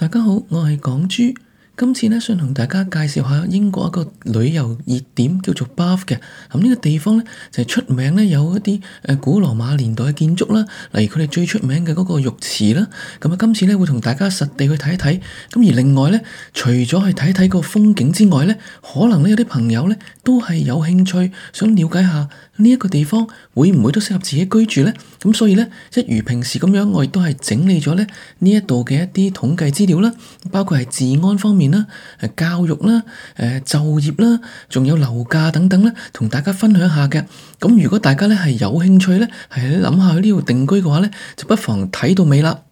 大家好，我係港豬。今次呢，想同大家介紹下英國一個旅遊熱點叫做 Bath 嘅。呢個地方呢，就係出名呢，有一啲古羅馬年代嘅建築啦，例如佢哋最出名嘅嗰個浴池啦。今次呢，會同大家實地去睇一睇。而另外呢，除咗去睇一睇個風景之外呢，可能呢有啲朋友呢都係有興趣想了解下呢一個地方會唔會都適合自己居住呢？所以呢，一如平時咁樣，我亦都係整理咗呢一度嘅一啲統計資料啦，包括係治安方面啦、教育啦、就業啦，仲有樓價等等啦，同大家分享下嘅。如果大家呢係有興趣呢，係諗下去呢度定居嘅話呢，就不妨睇到尾啦。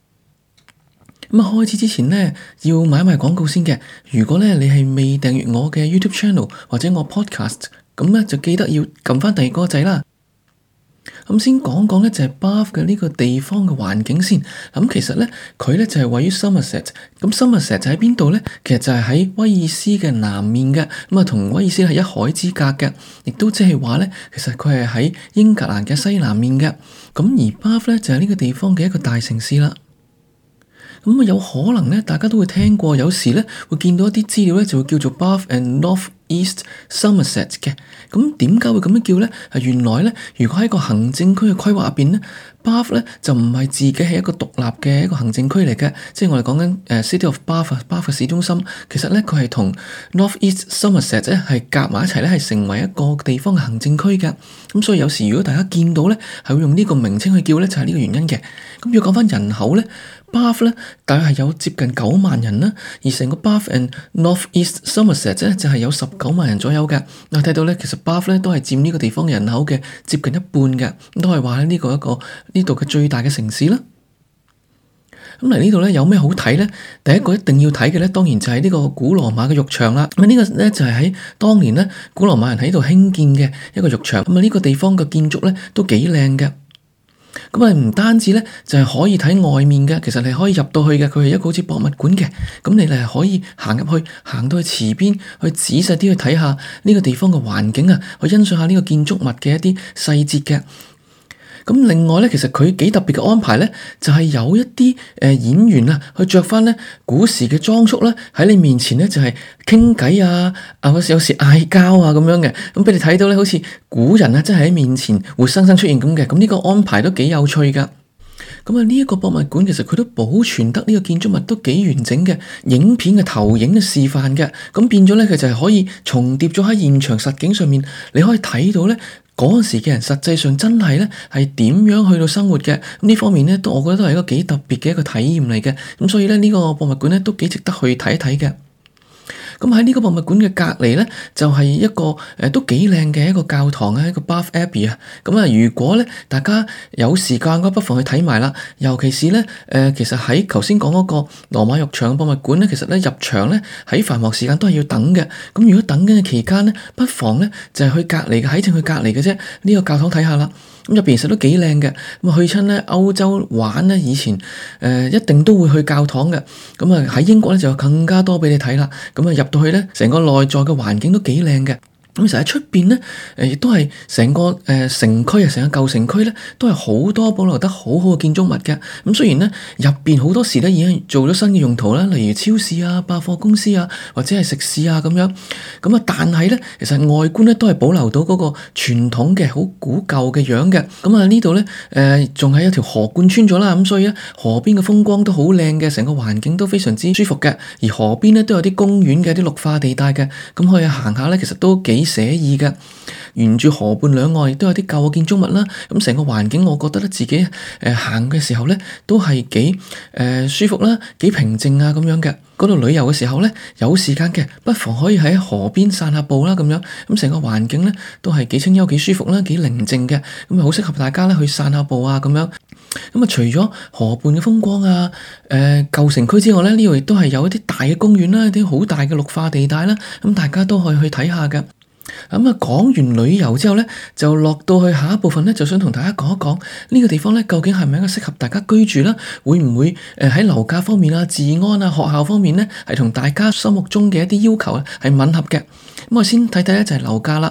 開始之前呢，要買埋廣告先嘅。如果呢你係未訂閱我嘅 YouTube channel 或者我 podcast，咁呢就記得要撳翻第二個掣啦。先講講呢，就係 Bath 嘅呢個地方嘅環境先。其實呢，佢呢就係位於 Somerset。Somerset 就喺邊度呢？其實就係喺威爾斯嘅南面嘅。同威爾斯係一海之隔嘅，亦都即係話呢，其實佢係喺英格蘭嘅西南面嘅。而 Bath 呢，就係呢個地方嘅一個大城市啦。有可能呢，大家都會聽過，有時呢會見到一啲資料呢，就會叫做 Bath and North East Somerset 嘅。點解會咁樣叫呢？原來呢，如果喺個行政區嘅規劃入邊呢，Bath 呢就唔係自己係一個獨立嘅一個行政區嚟嘅，即係我哋講緊City of Bath 嘅市中心。其實呢，佢係同 North East Somerset 咧係夾埋一齊咧，係成為一個地方嘅行政區嘅。所以有時如果大家見到呢，係會用呢個名稱去叫呢，就係呢個原因嘅。要講翻人口呢，Bath 呢大約係有接近9萬人啦，而成個 Bath and North East Somerset 咧就係有19萬人左右嘅。睇到呢，其實 Bath 呢都係佔呢個地方嘅人口嘅接近一半嘅，都係話呢個一個呢度嘅最大嘅城市啦。嚟呢度呢，有咩好睇呢？第一個一定要睇嘅呢，當然就係呢個古羅馬嘅浴場啦。呢個呢，就係喺當年呢，古羅馬人喺度興建嘅一個浴場。呢個地方嘅建築呢，都幾靚嘅。唔單止呢，就係可以睇外面嘅，其實你可以入到去嘅，佢係一個好似博物館嘅。你係可以行入去，行到去池邊，去仔細啲去睇下呢個地方嘅環境啊，去欣賞下呢個建築物嘅一啲細節嘅。另外呢，其實佢幾特別嘅安排呢，就係有一啲演員啊，去着翻呢古時嘅裝束啦，喺你面前呢，就係傾偈啊，有時嗌交啊咁樣嘅，俾你睇到呢，好似古人啊，真係喺面前活生生出現咁嘅。呢個安排都幾有趣噶。呢一個博物館其實佢都保存得呢個建築物都幾完整嘅，影片嘅投影嘅示範嘅。變咗呢，佢就係可以重疊咗喺現場實景上面，你可以睇到呢。嗰陣時嘅人實際上真係呢係點樣去到生活嘅。呢方面呢，我覺得都係一個幾特別嘅一個體驗嚟嘅。所以呢，呢個博物館呢都幾值得去睇一睇嘅。喺呢個博物館嘅隔離呢，就係一個都幾靚嘅一個教堂啊，一個 Bath Abbey 啊。如果呢大家有時間不妨去睇埋啦。尤其是呢，其實喺頭先講嗰個羅馬浴場博物館呢，其實呢入場呢喺繁忙時間都係要等嘅。如果等緊嘅期間呢，不妨呢就係去隔離嘅，喺正去隔離嘅啫。呢個教堂睇下啦。入邊其實都幾靚嘅。去親呢歐洲玩呢，以前一定都會去教堂嘅。喺英國呢，就有更加多俾你睇啦。入到去呢，成個內在嘅環境都幾靚嘅。其實喺出邊呢，亦都係成個城區啊，成個舊城區呢，都係好多保留得好好嘅建築物嘅。雖然呢，入邊好多時呢已經做咗新嘅用途啦，例如超市啊、百貨公司啊，或者係食肆啊咁樣。但係呢，其實外觀呢都係保留到嗰個傳統嘅好古舊嘅樣嘅。呢度呢，仲係有條河貫穿咗啦。所以呢，河邊嘅風光都好靚嘅，成個環境都非常之舒服嘅。而河邊呢，都有啲公園嘅，啲綠化地帶嘅，可以行下呢，其實都幾寫意嘅。沿住河畔兩岸亦都有啲舊嘅建築物啦。成個環境我覺得咧，自己行嘅時候咧，都係幾舒服啦，幾平靜啊咁樣嘅。嗰度旅遊嘅時候咧，有時間嘅不妨可以喺河邊散下步啦咁樣。成個環境咧都係幾清幽、幾舒服啦，幾寧靜嘅。好適合大家咧去散下步啊咁樣。除咗河畔嘅風光啊，舊城區之外咧，呢度亦都係有一啲大嘅公園啦，啲好大嘅綠化地帶啦，大家都可以去睇下嘅。講完旅遊之後呢，就落到去下一部分呢，就想同大家講一講呢個地方呢，究竟係咪一個適合大家居住啦？會唔會喺樓價方面啊、治安啊、學校方面呢，係同大家心目中嘅一啲要求係吻合嘅？我先睇睇就係樓價啦。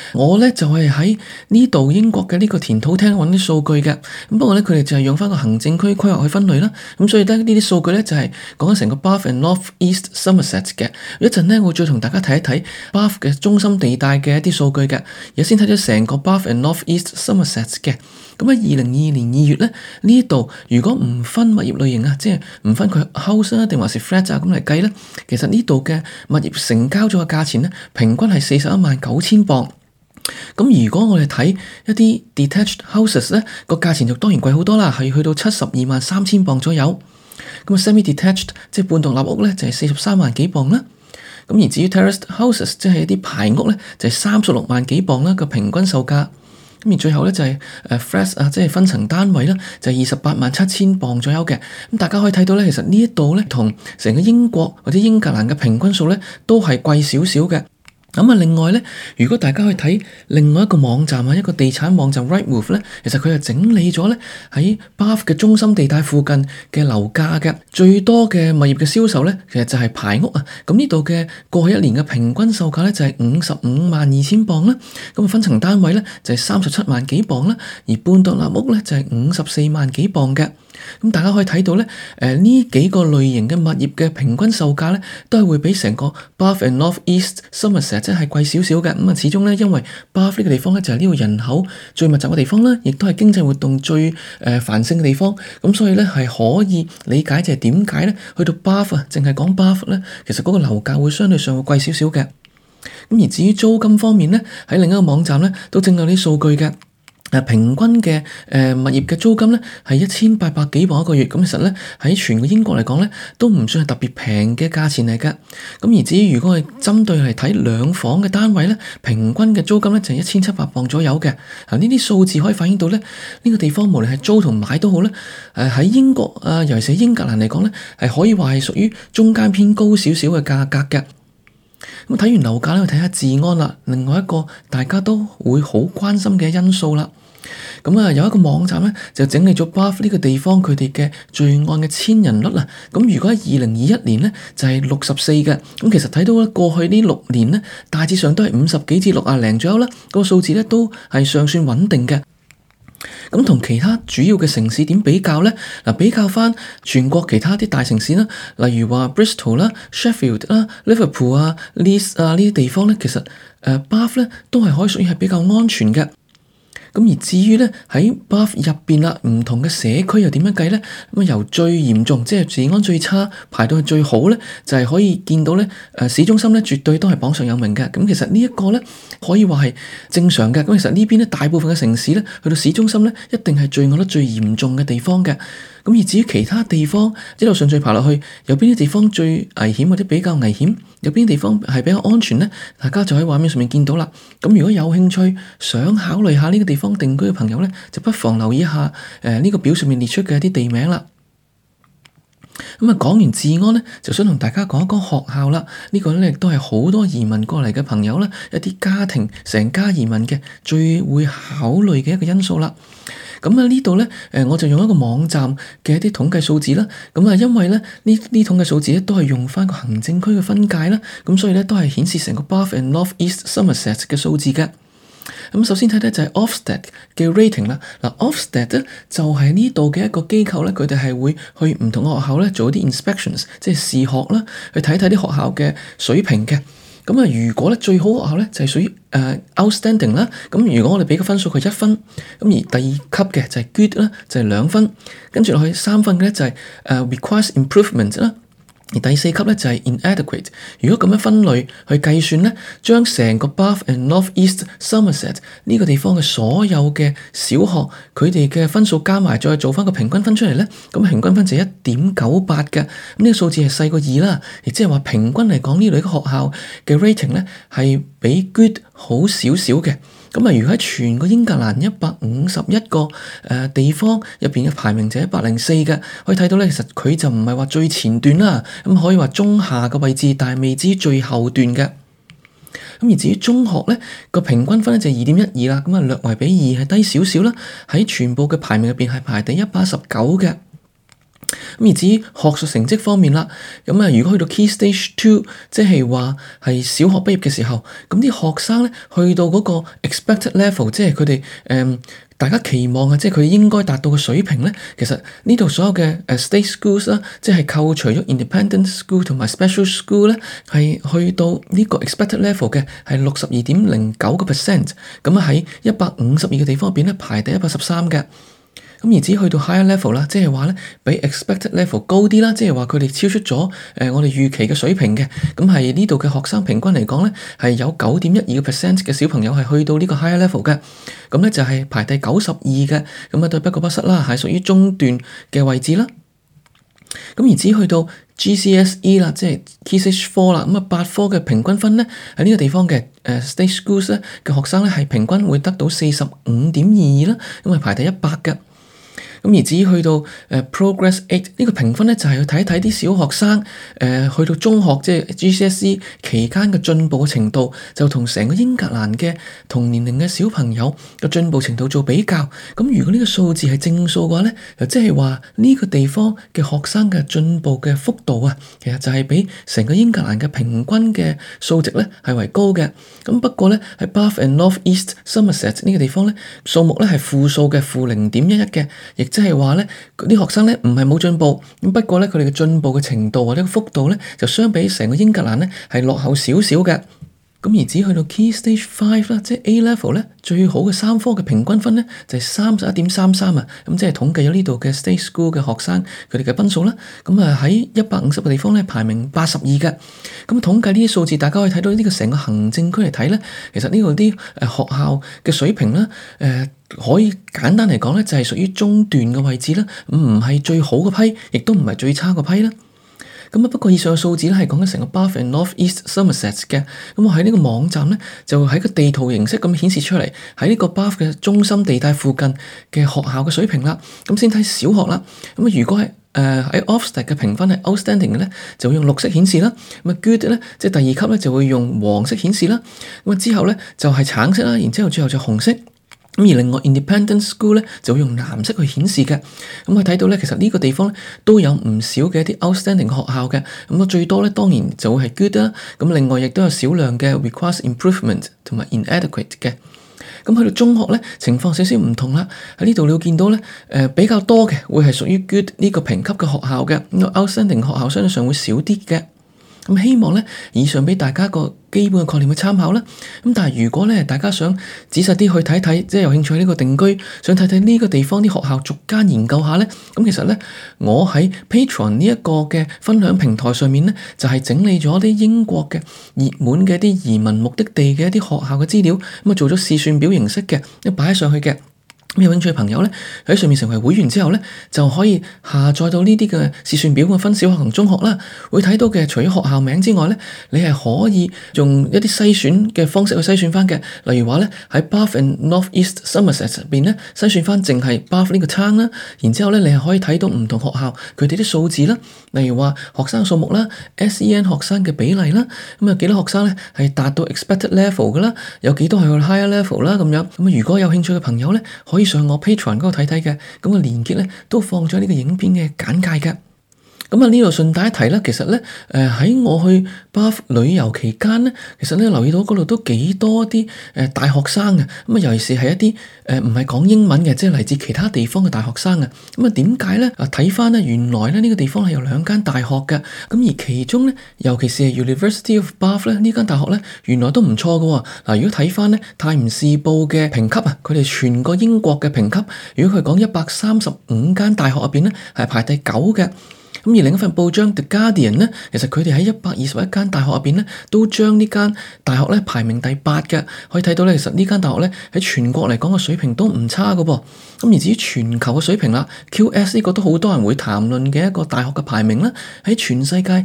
我咧就係喺呢度英國嘅呢個田土廳揾啲數據嘅。咁不過咧佢哋就係用翻個行政區規劃去分類啦。咁所以咧呢啲數據咧就係講緊成個 Bath and North East Somerset 嘅。一陣咧我再同大家睇一睇 Bath 嘅中心地帶嘅一啲數據嘅。而家先睇咗成個 Bath and North East Somerset 嘅。咁喺2022年2月咧，呢度如果唔分物業類型啊，即係唔分佢 house 啊定還是 flat 啊咁嚟計咧，其實呢度嘅物業成交咗嘅價錢咧，平均係419000鎊。咁如果我哋睇一啲 detached houses 咧，個價錢就當然貴好多啦，係去到723000鎊左右。咁 semi-detached 即係半獨立屋咧，就係43萬幾鎊啦。咁而至於 terraced houses 即係一啲排屋咧，就係36萬幾鎊啦個平均售價。咁而最後咧就係flats 啊，即係分層單位啦，就係287000鎊左右嘅。咁大家可以睇到咧，其實呢一度咧同成個英國或者英格蘭嘅平均數咧都係貴少少嘅。咁啊，另外咧，如果大家去睇另外一個網站啊，一個地產網站 Rightmove 咧，其實佢係整理咗咧喺 Bath 嘅中心地帶附近嘅樓價嘅最多嘅物業嘅銷售咧，其實就係排屋啊。咁呢度嘅過去一年嘅平均售價咧就係552000鎊啦。咁啊，分層單位咧就係37萬幾鎊啦，而半獨立屋咧就係54萬幾鎊嘅。咁大家可以睇到咧，呢幾個類型嘅物業嘅平均售價咧，都係會比成個 Bath and North East Somerset 即係貴少少嘅。咁啊，始終咧，因為 Bath 呢個地方咧就係呢度人口最密集嘅地方啦，亦都係經濟活動最繁盛嘅地方。咁所以咧係可以理解就係點解咧去到 Bath 啊，淨係講 Bath 咧，其實嗰個樓價會相對上會貴少少嘅。咁而至於租金方面咧，喺另一個網站咧都整有啲數據嘅。平均嘅物業嘅租金咧係1800幾鎊一個月，咁其實咧喺全個英國嚟講咧都唔算係特別平嘅價錢嚟㗎。咁而至於如果係針對嚟睇兩房嘅單位咧，平均嘅租金咧就係1700鎊左右嘅。呢啲數字可以反映到咧呢個地方無論係租同買都好咧，喺英國尤其是英格蘭嚟講咧係可以話係屬於中間偏高少少嘅價格嘅。咁睇完樓價咧，去睇下治安啦，另外一個大家都會好關心嘅因素啦。咁有一個網站咧就整理咗 Bath 呢個地方佢哋嘅罪案嘅千人率啦。咁如果喺2021年咧就係64嘅，咁其實睇到咧過去呢6年咧大致上都係50幾至60零左右啦，個數字咧都係尚算穩定嘅。咁同其他主要嘅城市點比較咧？比較翻全國其他啲大城市啦，例如話 Bristol 啦、Sheffield 啦、Liverpool 啊、Leeds 啊呢啲地方咧，其實Bath 咧都係可以屬於係比較安全嘅。咁而至於咧喺 Bath 入邊啦，唔同嘅社區又點樣計咧？咁由最嚴重即係治安最差排到去最好咧，就係可以見到咧市中心咧絕對都係榜上有名嘅。咁其實呢一個咧可以話係正常嘅。咁其實呢邊咧大部分嘅城市咧去到市中心咧一定係罪案率最嚴重嘅地方嘅。咁而至於其他地方一路順序爬落去，有邊啲地方最危險或者比較危險，有邊啲地方係比較安全咧？大家就喺畫面上面見到啦。咁如果有興趣想考慮下呢個地方定居嘅朋友咧，就不妨留意一下呢個表上面列出嘅一啲地名啦。咁講完治安咧，就想同大家講一講學校啦。呢個咧亦都係好多移民過嚟嘅朋友啦，一啲家庭成家移民嘅最會考慮嘅一個因素啦。咁呢度咧，我就用一個網站嘅一啲統計數字啦。咁因為咧呢統計數字咧都係用翻個行政區嘅分界啦，咁所以咧都係顯示成個 Bath and North East Somerset 嘅數字嘅。咁首先睇睇就係 Ofsted 嘅 rating 啦。Ofsted 咧就係呢度嘅一個機構咧，佢哋係會去唔同嘅學校咧做一啲 inspections，即係視學啦，去睇睇啲學校嘅水平嘅。咁如果咧最好學校咧就係屬於outstanding 啦。咁如果我哋俾個分數佢1分，咁而第二級嘅就係 good 啦，就係2分，跟住落去3分嘅咧就係requires improvement 啦。而第4級咧就係 inadequate。如果咁樣分類去計算咧，將成個 Bath and North East Somerset 呢個地方嘅所有嘅小學佢哋嘅分數加埋，再做翻個平均分出嚟咧，咁平均分就係1.98嘅。咁呢個數字係細過2啦，亦即係話平均嚟講呢類嘅學校嘅 rating 咧係比 good 好少少嘅。咁如果喺全個英格蘭151個地方入邊嘅排名就係104嘅，可以睇到咧，其實佢就唔係話最前段啦，咁可以話中下嘅位置，但係未至最後段嘅。咁而至於中學咧個平均分咧就係2.12啦，咁略為比2係低少少啦，喺全部嘅排名入邊係排第119嘅。 而至於學術成績方面啦，如果去到 Key Stage 2，即係話係小學畢業嘅時候，咁啲學生咧去到嗰個 expected level，即係佢哋大家期望嘅，即係佢應該達到嘅水平咧，其實呢度所有嘅state schools 啦，即係扣除咗 independent school 同埋 special school 咧，係去到呢個 expected level 嘅係62.09%，咁喺152個地方入邊咧排第113嘅。咁而只去到 higher level 啦，即係話咧比 expected level 高啲啦，即係話佢哋超出咗我哋預期嘅水平嘅。咁係呢度嘅學生平均嚟講咧，係有9.12% 嘅小朋友係去到呢個 higher level 嘅。咁咧就係排第92嘅，咁啊對不過不失啦，係屬於中段嘅位置啦。咁而只去到 GCSE 啦，即係 Key Stage 4啦，咁啊8科嘅平均分咧喺呢個地方嘅state schools 咧嘅學生咧係平均會得到45.22啦，咁啊排第100嘅。咁而至於去到Progress 8呢個評分咧，就係去睇一睇啲小學生去到中學即係 GCSE 期間嘅進步嘅程度，就同成個英格蘭嘅同年齡嘅小朋友嘅進步程度做比較。咁如果呢個數字係正數嘅話咧，就即係話呢個地方嘅學生嘅進步嘅幅度啊，其實就係比成個英格蘭嘅平均嘅數值咧係為高嘅。咁不過咧喺 Bath and North East Somerset 呢個地方咧，數目咧係負數嘅-0.11嘅，亦即係話咧，啲學生咧唔係冇進步，咁不過咧佢哋嘅進步嘅程度或者個幅度咧，就相比成個英格蘭咧係落後少少嘅。咁而只去到 Key Stage 5啦，即係 A Level 咧，最好嘅3科嘅平均分咧就係31.33啊，咁即係統計咗呢度嘅 State School 嘅學生佢哋嘅分數啦。咁啊喺150個地方咧排名82嘅。咁統計呢啲數字，大家可以睇到呢個成個行政區嚟睇咧，其實呢度啲學校嘅水平啦，可以簡單嚟講咧就係屬於中段嘅位置啦，唔係最好嘅批，亦都唔係最差嘅批啦。咁不過以上嘅數字咧係講緊成個 Bath and North East Somerset 嘅。咁我喺呢個網站咧就喺個地圖形式咁顯示出嚟，喺呢個 Bath 嘅中心地帶附近嘅學校嘅水平啦。咁先睇小學啦。咁如果係喺 Ofsted 嘅評分係 outstanding 嘅咧，就會用綠色顯示啦。咁 good 咧，即係第二級咧就會用黃色顯示啦。咁之後咧就係橙色啦，然之後最後就紅色。咁而另外 Independent School 咧就會用藍色去顯示嘅。咁我睇到咧，其實呢個地方咧都有唔少嘅一啲 outstanding 學校嘅。咁最多咧當然就會係 good 啦。咁另外亦都有少量嘅 requires improvement 同埋 inadequate 嘅。咁去到中學咧情況少少唔同啦。喺呢度你會見到咧比較多嘅會係屬於 good 呢個評級嘅學校嘅。咁 outstanding 學校相對上會少啲嘅。咁希望咧以上俾大家個基本嘅概念去參考啦。咁但係如果咧大家想仔細啲去睇睇，即係有興趣呢個定居，想睇睇呢個地方啲學校逐間研究下咧，咁其實咧我喺 Patreon 呢一個嘅分享平台上面咧，就係整理咗啲英國嘅熱門嘅一啲移民目的地嘅一啲學校嘅資料，咁啊做咗試算表形式嘅，一擺上去嘅。有興趣嘅朋友咧喺上面成為會員之後咧，就可以下載到呢啲嘅試算表，分小學同中學啦。會睇到嘅除咗學校名之外咧，你係可以用一啲篩選嘅方式去篩選翻嘅。例如話咧喺 Bath and North East Somerset 入邊咧篩選翻淨係 Bath 呢個 town 啦。然之後咧你係可以睇到唔同學校佢哋啲數字啦。例如話學生數目啦、SEN 學生嘅比例啦，咁有幾多學生咧係達到 expected level 噶啦，有幾多係去 higher level 啦咁樣。咁如果有興趣嘅朋友咧，可以上我 Patreon 嗰度睇睇嘅，咁個連結咧都放咗呢個影片嘅簡介嘅。咁呢度順帶一提啦，其實咧喺我去 Bath 旅遊期間咧，其實咧留意到嗰度都幾多啲大學生嘅。咁尤其是係一啲唔係講英文嘅，即係嚟自其他地方嘅大學生啊。咁點解咧？睇翻咧，原來咧呢個地方係有2間大學嘅。咁而其中咧，尤其是係 University of Bath 咧呢間大學咧，原來都唔錯㗎。嗱，如果睇翻咧《泰晤士報》嘅評級啊，佢哋全個英國嘅評級，如果佢講135間大學入邊咧，係排第9嘅。咁而另一份報章 The Guardian 咧，其實佢哋喺121間大學入邊咧，都將呢間大學咧排名第8嘅。可以睇到咧，其實呢間大學咧喺全國嚟講嘅水平都唔差㗎噃。咁而至於全球嘅水平啦，QS 呢個都好多人會談論嘅一個大學嘅排名啦，喺全世界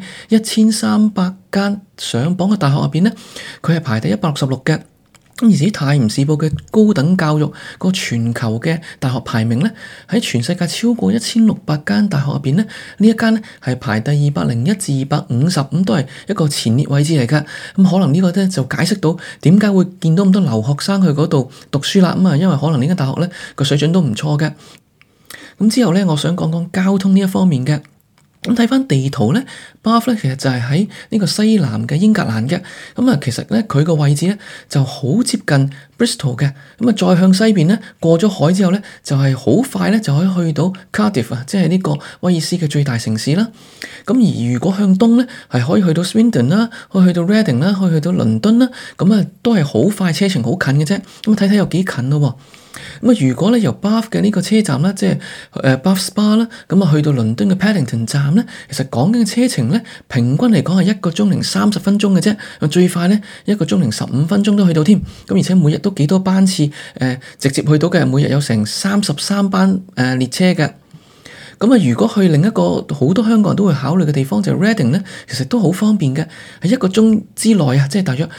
1300間上榜嘅大學入邊咧，佢係排第166嘅。咁而至於《泰晤士報》嘅高等教育個全球嘅大學排名咧，喺全世界超過1600間大學入邊咧，呢一間咧係排第201至250，咁都係一個前列位置嚟㗎。咁可能呢個咧就解釋到點解會見到咁多留學生去嗰度讀書啦。咁因為可能呢間大學咧個水準都唔錯嘅。 咁之後咧，我想講講交通呢一方面嘅。咁睇翻地圖咧，Bath 咧其實就係喺呢個西南嘅英格蘭嘅。咁啊，其實咧佢個位置咧就好接近 Bristol 嘅。咁啊，再向西邊咧過咗海之後咧，就係好快咧就可以去到 Cardiff 啊，即係呢個威爾斯嘅最大城市啦。咁而如果向東咧，係可以去到 Swindon 啦，可以去到 Reading 啦，可以去到倫敦啦。咁啊，都係好快，車程好近嘅啫。咁啊，睇睇有幾近咯。咁啊，如果咧由 Bath 嘅呢個車站啦，即係Bath Spa啦，咁啊去到倫敦嘅 Paddington 站咧，其實講緊嘅車程咧，平均嚟講係1個鐘零30分鐘嘅啫。最快咧1個鐘零15分鐘都去到添。咁而且每日都幾多班次直接去到嘅，每日有成33班列車嘅。咁啊，如果去另一個好多香港人都會考慮嘅地方就係 Reading 咧，其實都好方便嘅，喺1個鐘之內啊，即係大約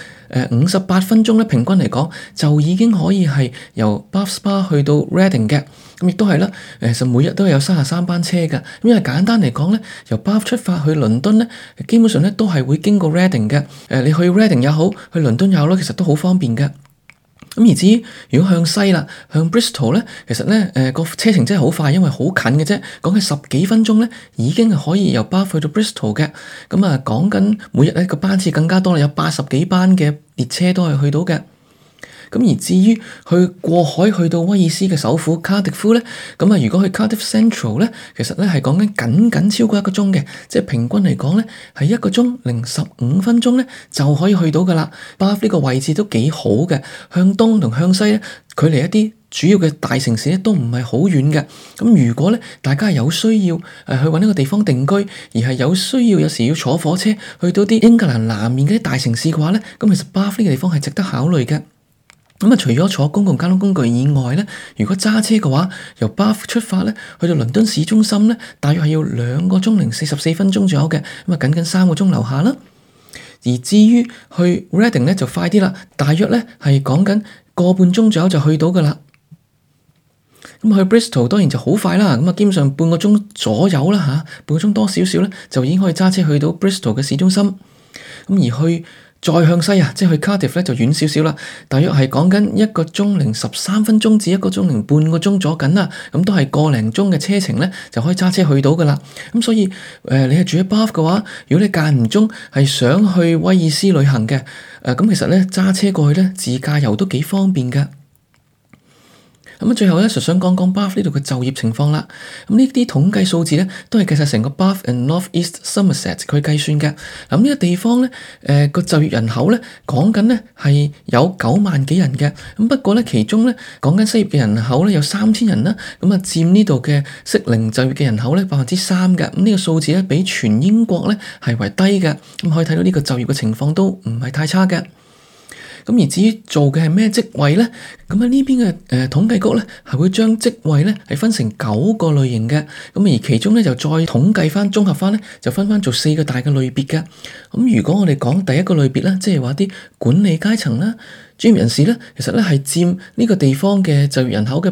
58分鐘咧，平均嚟講就已經可以係由 Bath Spa 去到 Reading 嘅。咁亦都係啦，其實每日都係有33班車嘅。咁因為簡單嚟講咧，由 Bath 出發去倫敦咧，基本上咧都係會經過 Reading 嘅。你去 Reading 也好，去倫敦也好啦，其實都好方便嘅。咁而至於如果向西啦，向 Bristol 咧，其實咧個車程真係好快，因為好近嘅啫，講緊10幾分鐘咧，已經係可以由 Bath 去到 Bristol 嘅。咁啊，講緊每日咧個班次更加多啦，有80幾班嘅列車都係去到嘅。咁而至於去過海去到威爾斯嘅首府卡迪夫咧，咁啊，如果去 Cardiff Central 咧，其實咧係講緊僅超過1個鐘嘅，即係平均嚟講咧係1個鐘零15分鐘咧就可以去到噶啦。Bath 呢個位置都幾好嘅，向東同向西咧距離一啲主要嘅大城市咧都唔係好遠嘅。咁如果咧大家係有需要去搵一個地方定居，而係有需要有時要坐火車去到啲英格蘭南面嗰啲大城市嘅話咧，咁其實 Bath 呢個地方係值得考慮嘅。咁啊，除咗坐公共交通工具以外咧，如果揸車嘅話，由 Bath 出發咧，去到倫敦市中心咧，大約係要2個鐘零44分鐘左右嘅，咁啊，僅僅3個鐘樓下啦。而至於去 Reading 咧就快啲啦，大約咧係講緊個半鐘左右就去到噶啦。咁去 Bristol 當然就好快啦，咁啊，基本上半個鐘左右啦嚇，半個鐘多少少咧，就已經可以揸車去到 Bristol 嘅市中心。咁而去再向西啊，即係去 Cardiff 咧就遠少少啦，大約係講緊1個鐘零13分鐘至1個鐘零半個鐘左緊啦，咁都係個零鐘嘅車程咧就可以揸車去到噶啦。咁所以你係住喺 Bath 嘅話，如果你間唔中係想去威爾斯旅行嘅，咁其實咧揸車過去咧自駕遊都幾方便噶。咁最後咧就想講講 Bath 呢度嘅就業情況啦。咁呢啲統計數字咧都係計晒成個 Bath and North East Somerset 佢計算嘅。咁呢個地方咧，個就業人口咧講緊咧係有9萬幾人嘅。咁不過咧其中咧講緊失業嘅人口咧有3000人啦。咁啊佔呢度嘅適齡就業嘅人口咧3%嘅。咁呢個數字咧比全英國咧係為低嘅。咁可以睇到呢個就業嘅情況都唔係太差嘅。咁而至於做嘅係咩職位咧？咁喺呢邊嘅統計局咧係會將職位咧係分成9個類型嘅。咁而其中咧就再統計翻綜合翻咧就分翻做4個大嘅類別嘅。咁如果我哋講第一個類別咧，即係話啲管理階層啦、專業人士咧，其實咧係佔呢個地方嘅就業人口嘅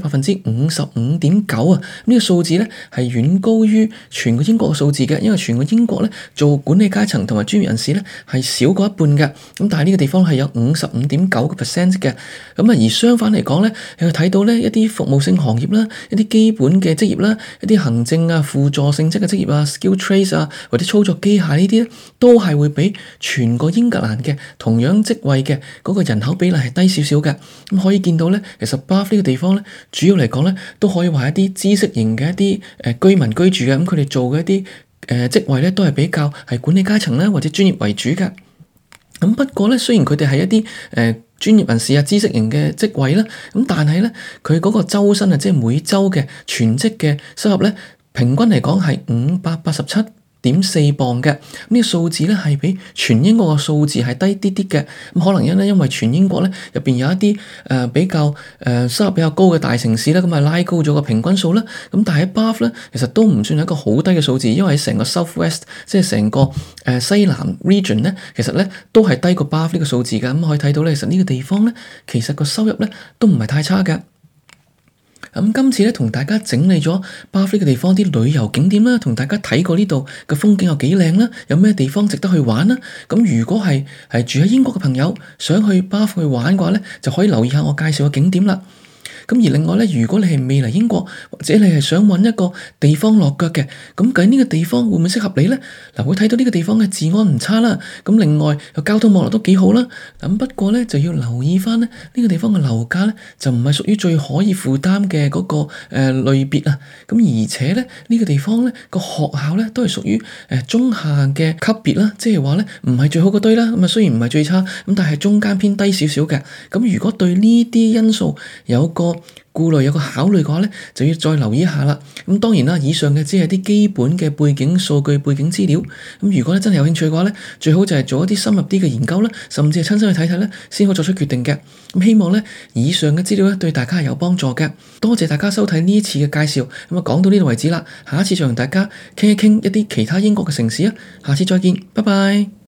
55.9%啊！呢個數字咧係遠高於全個英國嘅數字嘅，因為全個英國咧做管理階層同埋專業人士咧係少過一半嘅。咁但係呢個地方係有55.9% 嘅。咁啊而相反嚟講咧，你會睇到咧一啲服務性行業啦、一啲基本嘅職業啦、一啲行政啊、輔助性質嘅職業啊、skill trades 啊或者操作機械呢啲咧，都係會比全個英格蘭嘅同樣職位嘅嗰個人口比例係低少少嘅。咁可以見到咧，其實 Bath 呢個地方咧，主要嚟講咧，都可以話一啲知識型嘅一啲居民居住嘅。咁佢哋做嘅一啲職位咧，都係比較係管理階層啦，或者專業為主嘅。咁不過咧，雖然佢哋係一啲專業人士啊、知識型嘅職位啦，咁但係咧，佢嗰個周薪啊，即係每週嘅全職嘅收入咧，平均嚟講係587.4磅嘅。呢個數字咧係比全英國嘅數字係低啲啲嘅。咁可能因為全英國咧入邊有一啲比較收入比較高嘅大城市咧，咁啊拉高咗個平均數啦。咁但係喺 Bath 咧，其實都唔算係一個好低嘅數字，因為喺成個 South West 即係成個西南 region 咧，其實咧都係低過 Bath 呢個數字嘅。咁可以睇到咧，其實呢個地方咧，其實個收入咧都唔係太差嘅。咁今次咧同大家整理咗 Bath 呢個地方啲旅遊景點啦，同大家睇過呢度嘅風景有幾靚啦，有咩地方值得去玩啦。咁如果係住喺英國嘅朋友想去 Bath 去玩嘅話咧，就可以留意下我介紹嘅景點啦。 咁而另外咧，如果你係未嚟英國，或者你係想揾一個地方落腳嘅，咁究竟呢個地方會唔會適合你咧？嗱，會睇到呢個地方嘅治安唔差啦，咁另外個交通網絡都幾好啦。咁不過咧就要留意翻咧，呢個地方嘅樓價咧就唔係屬於最可以負擔嘅嗰個類別啊。咁而且咧呢個地方咧個學校咧都係屬於中下嘅級別啦，即係話咧唔係最好嗰堆啦。咁啊雖然唔係最差，咁但係中間偏低少少嘅。咁如果對呢啲因素有個顧慮有個考慮嘅話咧，就要再留意一下啦。咁當然啦，以上嘅只係啲基本嘅背景數據、背景資料。咁如果咧真係有興趣嘅話咧，最好就係做一啲深入啲嘅研究啦，甚至係親身去睇睇咧，先可以作出決定嘅。咁希望咧以上嘅資料咧對大家係有幫助嘅。多謝大家收睇呢一次嘅介紹。咁啊講到呢度為止啦，下一次再同大家傾一傾一啲其他英國嘅城市啊。下次再見，拜拜。